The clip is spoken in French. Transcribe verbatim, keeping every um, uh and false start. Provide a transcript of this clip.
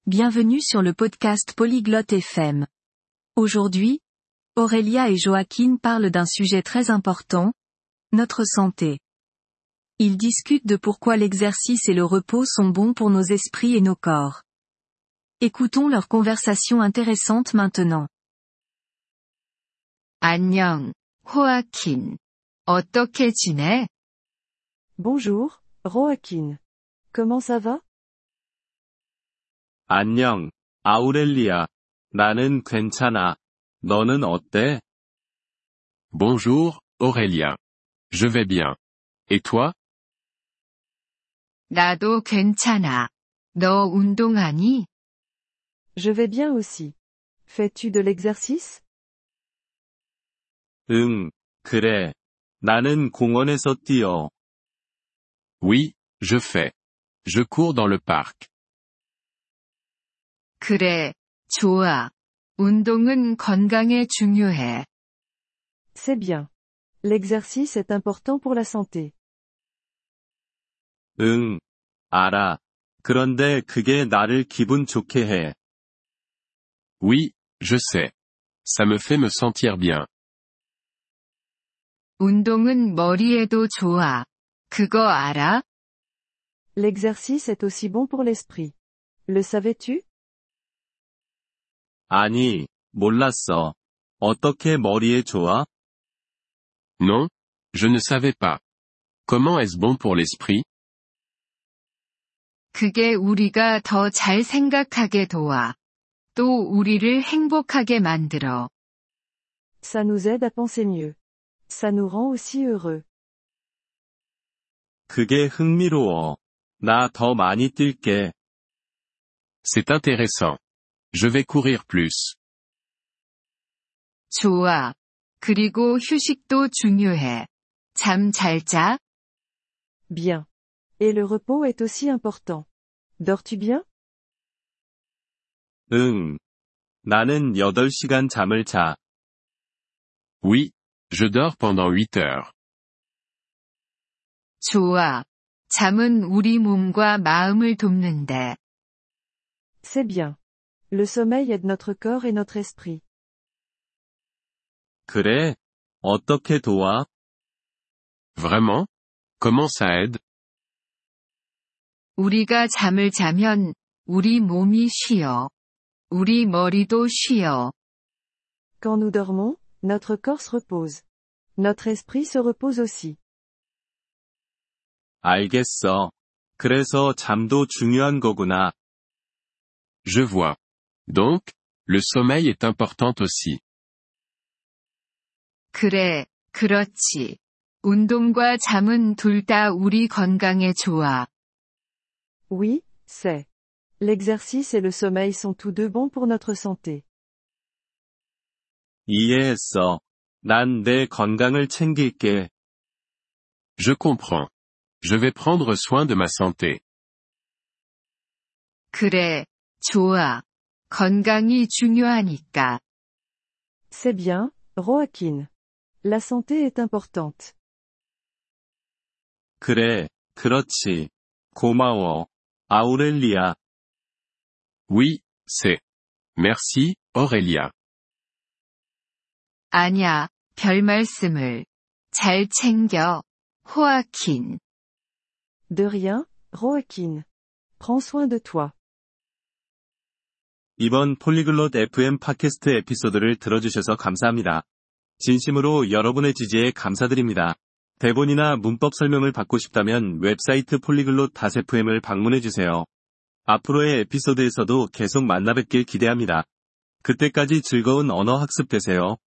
Bienvenue sur le podcast Polyglotte F M. Aujourd'hui, Aurélia et Joaquin parlent d'un sujet très important, notre santé. Ils discutent de pourquoi l'exercice et le repos sont bons pour nos esprits et nos corps. Écoutons leur conversation intéressante maintenant. 안녕, 호아킨. 어떻게 지내? Bonjour, Joaquin. Comment ça va? 안녕, 아우렐리아. 나는 괜찮아. 너는 어때? Bonjour, Aurélien. Je vais bien. Et toi? 나도 괜찮아. 너 운동하니? Je vais bien aussi. Fais-tu de l'exercice? 응, 그래. 나는 공원에서 뛰어. Oui, je fais. Je cours dans le parc. 그래, 좋아. 운동은 건강에 중요해. C'est bien. L'exercice est important pour la santé. 응, 알아. 그런데 그게 나를 기분 좋게 해. Oui, je sais. Ça me fait me sentir bien. 운동은 머리에도 좋아. 그거 알아? L'exercice est aussi bon pour l'esprit. Le savais-tu? 아니, 몰랐어. 어떻게 머리에 좋아? Non? Je ne savais pas. Comment est-ce bon pour l'esprit? 그게 우리가 더 잘 생각하게 도와. 또 우리를 행복하게 만들어. Ça nous aide à penser mieux. Ça nous rend aussi heureux. 그게 흥미로워. 나 더 많이 뛸게. C'est intéressant. Je vais courir plus. 좋아. 그리고 휴식도 중요해. 잠 잘 자? Bien. Et le repos est aussi important. Dors-tu bien? 응. 나는 여덟 시간 잠을 자. Oui, je dors pendant huit heures. 좋아. 잠은 우리 몸과 마음을 돕는데. C'est bien. Le sommeil aide notre corps et notre esprit. 그래? 어떻게 도와? Vraiment? Comment ça aide? 우리가 잠을 자면 우리 몸이 쉬어. 우리 머리도 쉬어. Quand nous dormons, notre corps se repose. Notre esprit se repose aussi. 알겠어. 그래서 잠도 중요한 거구나. Je vois. Donc, le sommeil est important aussi. 그래, 그렇지. 운동과 잠은 둘 다 우리 건강에 좋아. Oui, c'est. L'exercice et le sommeil sont tous deux bons pour notre santé. 이해했어. 난 내 건강을 챙길게. Je comprends. Je vais prendre soin de ma santé. 그래, 좋아. 건강이 중요하니까. C'est bien, Joaquin. La santé est importante. 그래, 그렇지. 고마워. 아우렐리아. Oui, c'est. Merci, Aurélia. 아냐, 별 말씀을. 잘 챙겨. 호아킨. De rien, Joaquin. Prends soin de toi. 이번 폴리글롯 에프엠 팟캐스트 에피소드를 들어주셔서 감사합니다. 진심으로 여러분의 지지에 감사드립니다. 대본이나 문법 설명을 받고 싶다면 웹사이트 폴리글롯 에프엠을 방문해주세요. 앞으로의 에피소드에서도 계속 만나뵙길 기대합니다. 그때까지 즐거운 언어 학습 되세요.